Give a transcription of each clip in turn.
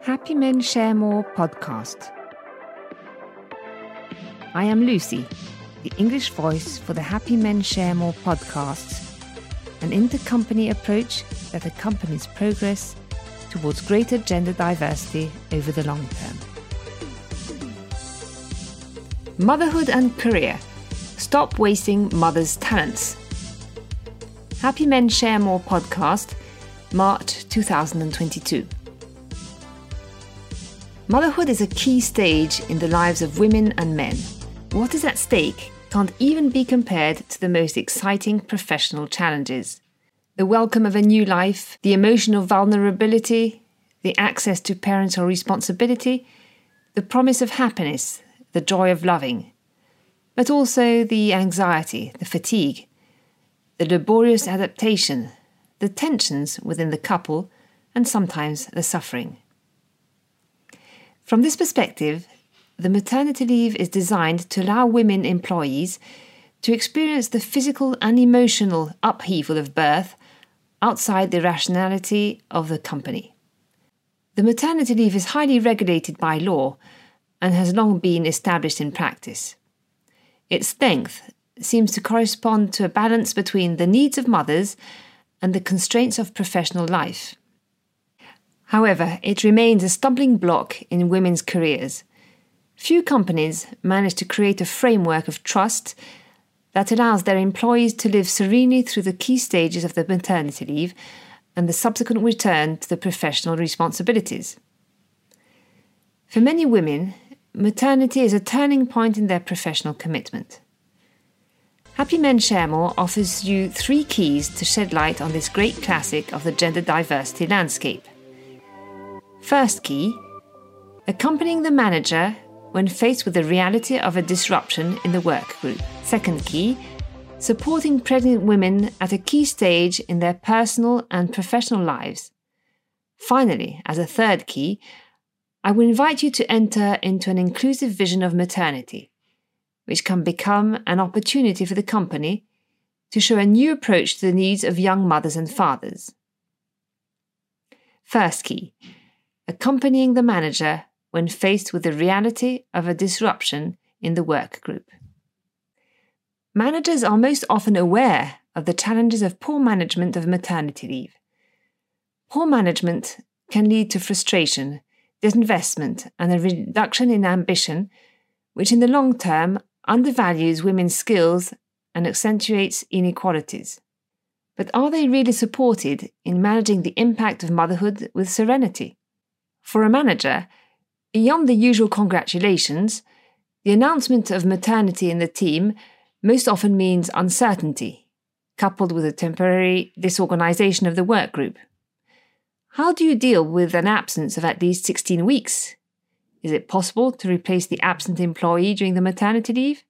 Happy Men Share More podcast. I am Lucy, the English voice for the Happy Men Share More podcasts, an intercompany approach that accompanies progress towards greater gender diversity over the long term. Motherhood and career. Stop wasting mothers' talents. Happy Men Share More podcast, March 2022. Motherhood is a key stage in the lives of women and men. What is at stake can't even be compared to the most exciting professional challenges. The welcome of a new life, the emotional vulnerability, the access to parental responsibility, the promise of happiness, the joy of loving, but also the anxiety, the fatigue, the laborious adaptation, the tensions within the couple, and sometimes the suffering. From this perspective, the maternity leave is designed to allow women employees to experience the physical and emotional upheaval of birth outside the rationality of the company. The maternity leave is highly regulated by law and has long been established in practice. Its length seems to correspond to a balance between the needs of mothers and the constraints of professional life. However, it remains a stumbling block in women's careers. Few companies manage to create a framework of trust that allows their employees to live serenely through the key stages of the maternity leave and the subsequent return to the professional responsibilities. For many women, maternity is a turning point in their professional commitment. Happy Men Share More offers you 3 keys to shed light on this great classic of the gender diversity landscape. First key, accompanying the manager when faced with the reality of a disruption in the work group. Second key, supporting pregnant women at a key stage in their personal and professional lives. Finally, as a third key, I will invite you to enter into an inclusive vision of maternity, which can become an opportunity for the company to show a new approach to the needs of young mothers and fathers. First key, accompanying the manager when faced with the reality of a disruption in the work group. Managers are most often aware of the challenges of poor management of maternity leave. Poor management can lead to frustration, disinvestment, and a reduction in ambition, which in the long term undervalues women's skills and accentuates inequalities. But are they really supported in managing the impact of motherhood with serenity? For a manager, beyond the usual congratulations, the announcement of maternity in the team most often means uncertainty, coupled with a temporary disorganization of the work group. How do you deal with an absence of at least 16 weeks? Is it possible to replace the absent employee during the maternity leave?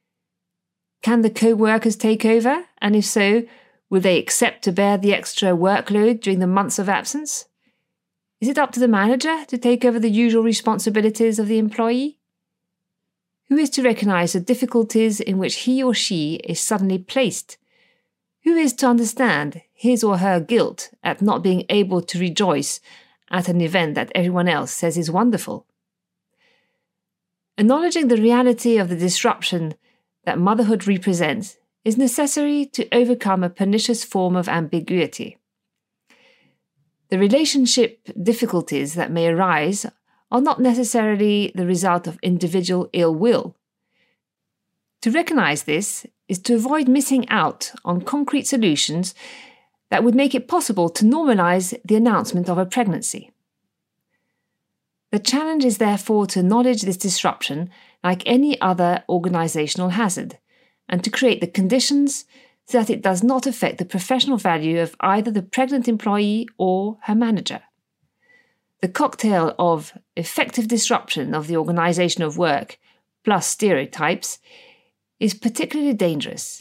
Can the co-workers take over? And if so, will they accept to bear the extra workload during the months of absence? Is it up to the manager to take over the usual responsibilities of the employee? Who is to recognise the difficulties in which he or she is suddenly placed? Who is to understand his or her guilt at not being able to rejoice at an event that everyone else says is wonderful? Acknowledging the reality of the disruption that motherhood represents is necessary to overcome a pernicious form of ambiguity. The relationship difficulties that may arise are not necessarily the result of individual ill will. To recognise this is to avoid missing out on concrete solutions that would make it possible to normalise the announcement of a pregnancy. The challenge is therefore to acknowledge this disruption like any other organisational hazard and to create the conditions so that it does not affect the professional value of either the pregnant employee or her manager. The cocktail of effective disruption of the organisation of work plus stereotypes is particularly dangerous.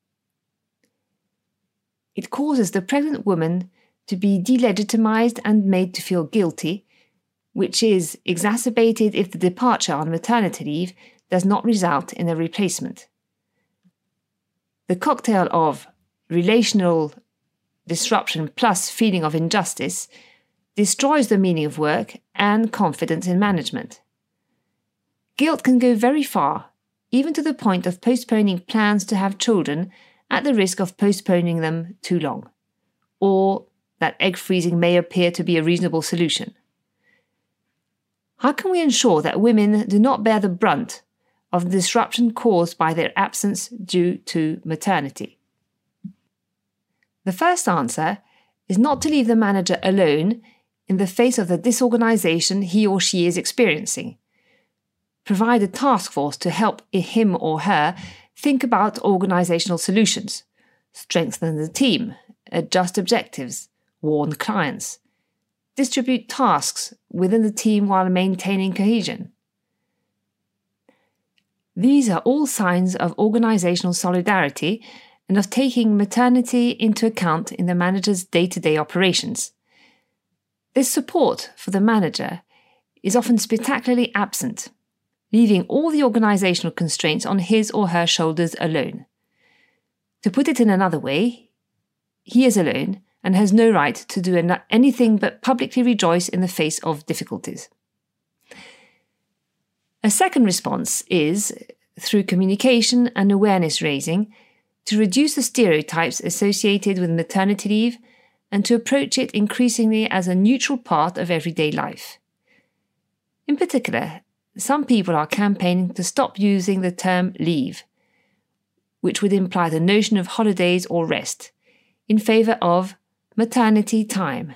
It causes the pregnant woman to be delegitimized and made to feel guilty, which is exacerbated if the departure on maternity leave does not result in a replacement. The cocktail of relational disruption plus feeling of injustice destroys the meaning of work and confidence in management. Guilt can go very far, even to the point of postponing plans to have children at the risk of postponing them too long, or that egg freezing may appear to be a reasonable solution. How can we ensure that women do not bear the brunt of the disruption caused by their absence due to maternity? The first answer is not to leave the manager alone in the face of the disorganization he or she is experiencing. Provide a task force to help him or her think about organizational solutions, strengthen the team, adjust objectives, warn clients, distribute tasks within the team while maintaining cohesion. These are all signs of organizational solidarity and of taking maternity into account in the manager's day-to-day operations. This support for the manager is often spectacularly absent, leaving all the organizational constraints on his or her shoulders alone. To put it in another way, he is alone and has no right to do anything but publicly rejoice in the face of difficulties. A second response is, through communication and awareness raising, to reduce the stereotypes associated with maternity leave and to approach it increasingly as a neutral part of everyday life. In particular, some people are campaigning to stop using the term leave, which would imply the notion of holidays or rest, in favour of maternity time.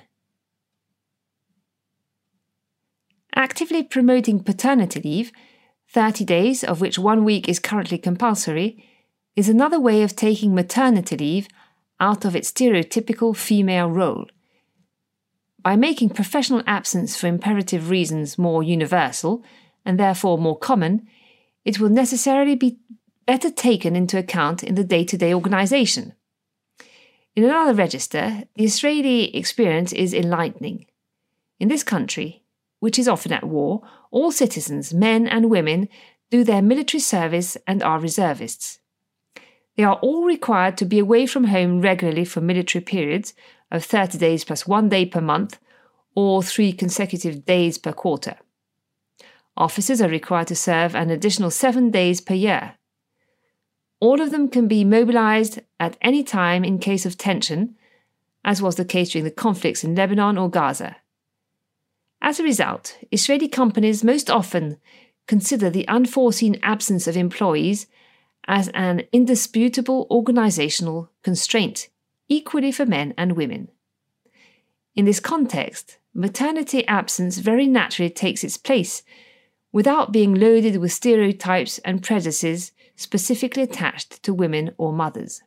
Actively promoting paternity leave, 30 days of which 1 week is currently compulsory, is another way of taking maternity leave out of its stereotypical female role. By making professional absence for imperative reasons more universal, and therefore more common, it will necessarily be better taken into account in the day-to-day organisation. In another register, the Israeli experience is enlightening. In this country, which is often at war, all citizens, men and women, do their military service and are reservists. They are all required to be away from home regularly for military periods of 30 days plus 1 day per month, or 3 consecutive days per quarter. Officers are required to serve an additional 7 days per year. All of them can be mobilized at any time in case of tension, as was the case during the conflicts in Lebanon or Gaza. As a result, Israeli companies most often consider the unforeseen absence of employees as an indisputable organizational constraint, equally for men and women. In this context, maternity absence very naturally takes its place, without being loaded with stereotypes and prejudices specifically attached to women or mothers.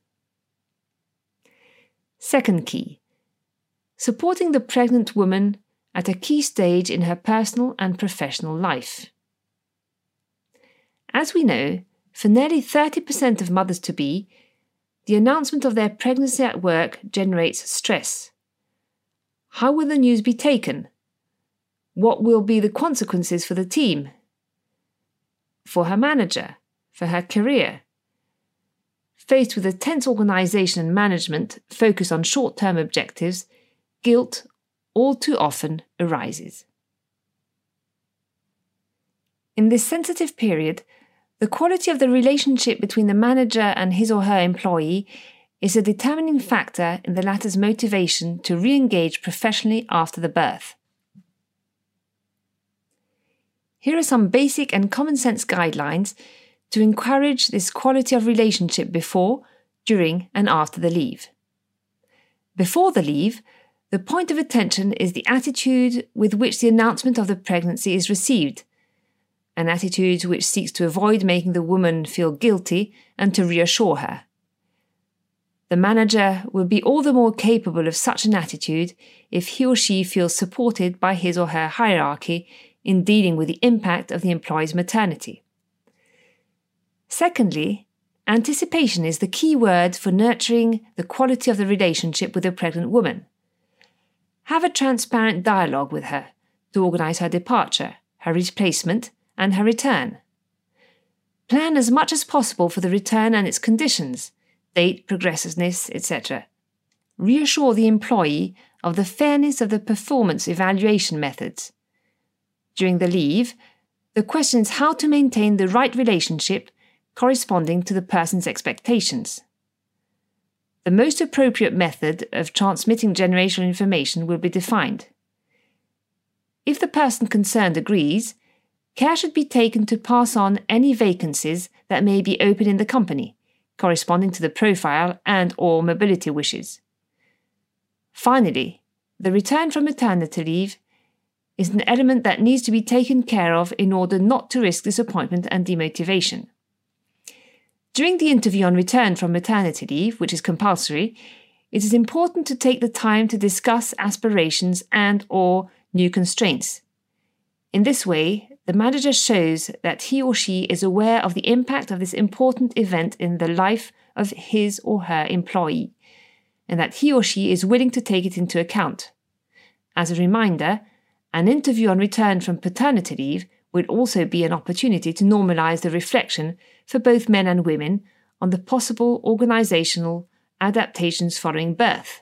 Second key, supporting the pregnant woman at a key stage in her personal and professional life. As we know, for nearly 30% of mothers-to-be, the announcement of their pregnancy at work generates stress. How will the news be taken? What will be the consequences for the team, for her manager, for her career? Faced with a tense organisation and management focused on short-term objectives, guilt all too often arises. In this sensitive period, the quality of the relationship between the manager and his or her employee is a determining factor in the latter's motivation to re-engage professionally after the birth. Here are some basic and common sense guidelines to encourage this quality of relationship before, during, and after the leave. Before the leave, the point of attention is the attitude with which the announcement of the pregnancy is received, an attitude which seeks to avoid making the woman feel guilty and to reassure her. The manager will be all the more capable of such an attitude if he or she feels supported by his or her hierarchy in dealing with the impact of the employee's maternity. Secondly, anticipation is the key word for nurturing the quality of the relationship with a pregnant woman. Have a transparent dialogue with her to organise her departure, her replacement, and her return. Plan as much as possible for the return and its conditions, date, progressiveness, etc. Reassure the employee of the fairness of the performance evaluation methods. During the leave, the question is how to maintain the right relationship corresponding to the person's expectations. The most appropriate method of transmitting generational information will be defined. If the person concerned agrees, care should be taken to pass on any vacancies that may be open in the company, corresponding to the profile and/or mobility wishes. Finally, the return from maternity leave is an element that needs to be taken care of in order not to risk disappointment and demotivation. During the interview on return from maternity leave, which is compulsory, it is important to take the time to discuss aspirations and/or new constraints. In this way, the manager shows that he or she is aware of the impact of this important event in the life of his or her employee, and that he or she is willing to take it into account. As a reminder, an interview on return from paternity leave will also be an opportunity to normalise the reflection for both men and women on the possible organisational adaptations following birth.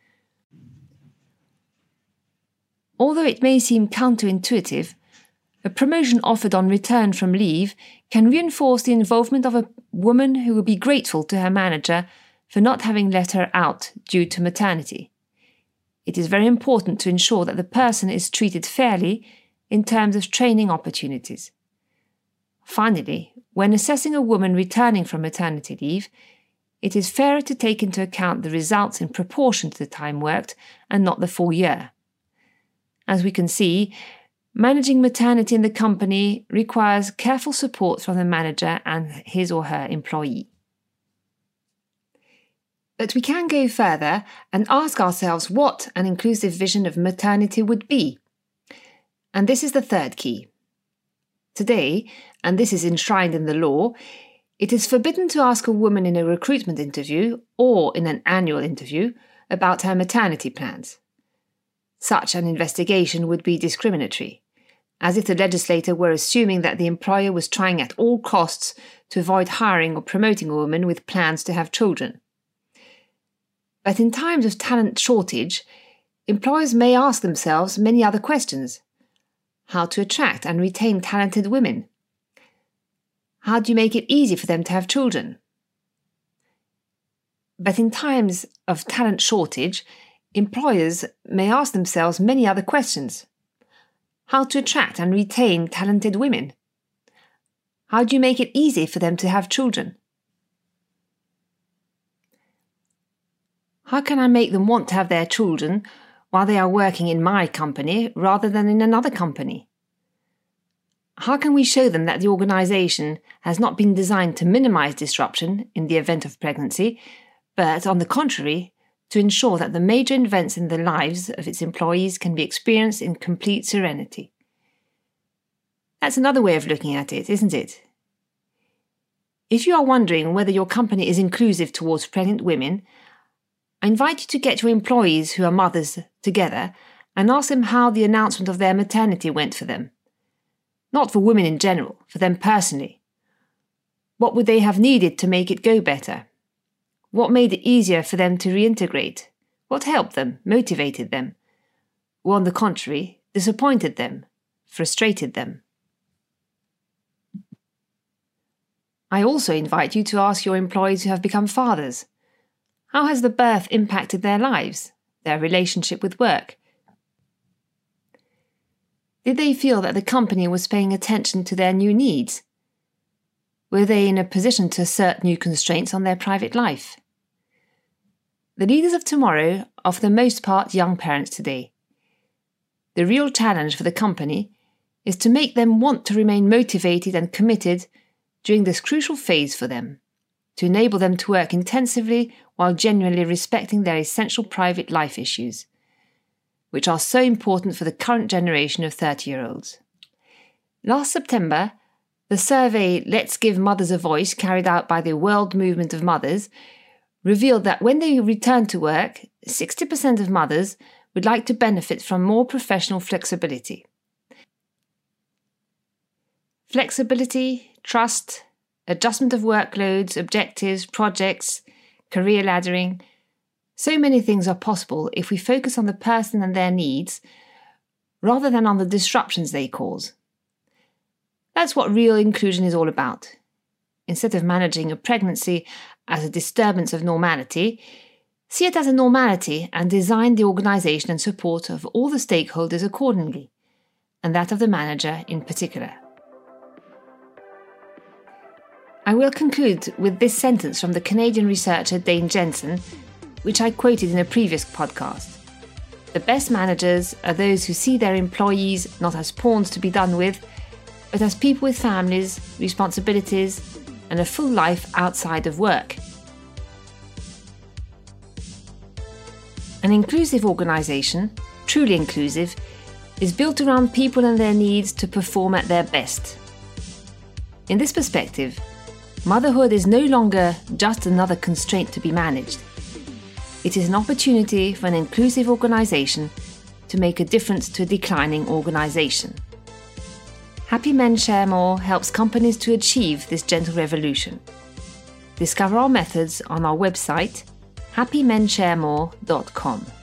Although it may seem counterintuitive, a promotion offered on return from leave can reinforce the involvement of a woman who will be grateful to her manager for not having let her out due to maternity. It is very important to ensure that the person is treated fairly in terms of training opportunities. Finally, when assessing a woman returning from maternity leave, it is fairer to take into account the results in proportion to the time worked and not the full year. As we can see, managing maternity in the company requires careful support from the manager and his or her employee. But we can go further and ask ourselves what an inclusive vision of maternity would be. And this is the third key. Today, and this is enshrined in the law, it is forbidden to ask a woman in a recruitment interview or in an annual interview about her maternity plans. Such an investigation would be discriminatory, as if the legislator were assuming that the employer was trying at all costs to avoid hiring or promoting a woman with plans to have children. But in times of talent shortage, employers may ask themselves many other questions. How to attract and retain talented women? How do you make it easy for them to have children? But in times of talent shortage, employers may ask themselves many other questions. How to attract and retain talented women? How do you make it easy for them to have children? How can I make them want to have their children while they are working in my company rather than in another company? How can we show them that the organisation has not been designed to minimise disruption in the event of pregnancy, but, on the contrary, to ensure that the major events in the lives of its employees can be experienced in complete serenity? That's another way of looking at it, isn't it? If you are wondering whether your company is inclusive towards pregnant women, I invite you to get your employees who are mothers together and ask them how the announcement of their maternity went for them. Not for women in general, for them personally. What would they have needed to make it go better? What made it easier for them to reintegrate? What helped them, motivated them? Or on the contrary, disappointed them, frustrated them? I also invite you to ask your employees who have become fathers. How has the birth impacted their lives, their relationship with work? Did they feel that the company was paying attention to their new needs? Were they in a position to assert new constraints on their private life? The leaders of tomorrow are for the most part young parents today. The real challenge for the company is to make them want to remain motivated and committed during this crucial phase for them, to enable them to work intensively while genuinely respecting their essential private life issues, which are so important for the current generation of 30-year-olds. Last September, the survey Let's Give Mothers a Voice, carried out by the World Movement of Mothers, revealed that when they return to work, 60% of mothers would like to benefit from more professional flexibility. Flexibility, trust, adjustment of workloads, objectives, projects, career laddering, So many things are possible if we focus on the person and their needs, rather than on the disruptions they cause. That's what real inclusion is all about. Instead of managing a pregnancy as a disturbance of normality, see it as a normality and design the organisation and support of all the stakeholders accordingly, and that of the manager in particular. I will conclude with this sentence from the Canadian researcher Dane Jensen, which I quoted in a previous podcast. The best managers are those who see their employees not as pawns to be done with, but as people with families, responsibilities, and a full life outside of work. An inclusive organisation, truly inclusive, is built around people and their needs to perform at their best. In this perspective, motherhood is no longer just another constraint to be managed. It is an opportunity for an inclusive organisation to make a difference to a declining organisation. Happy Men Share More helps companies to achieve this gentle revolution. Discover our methods on our website, happymensharemore.com.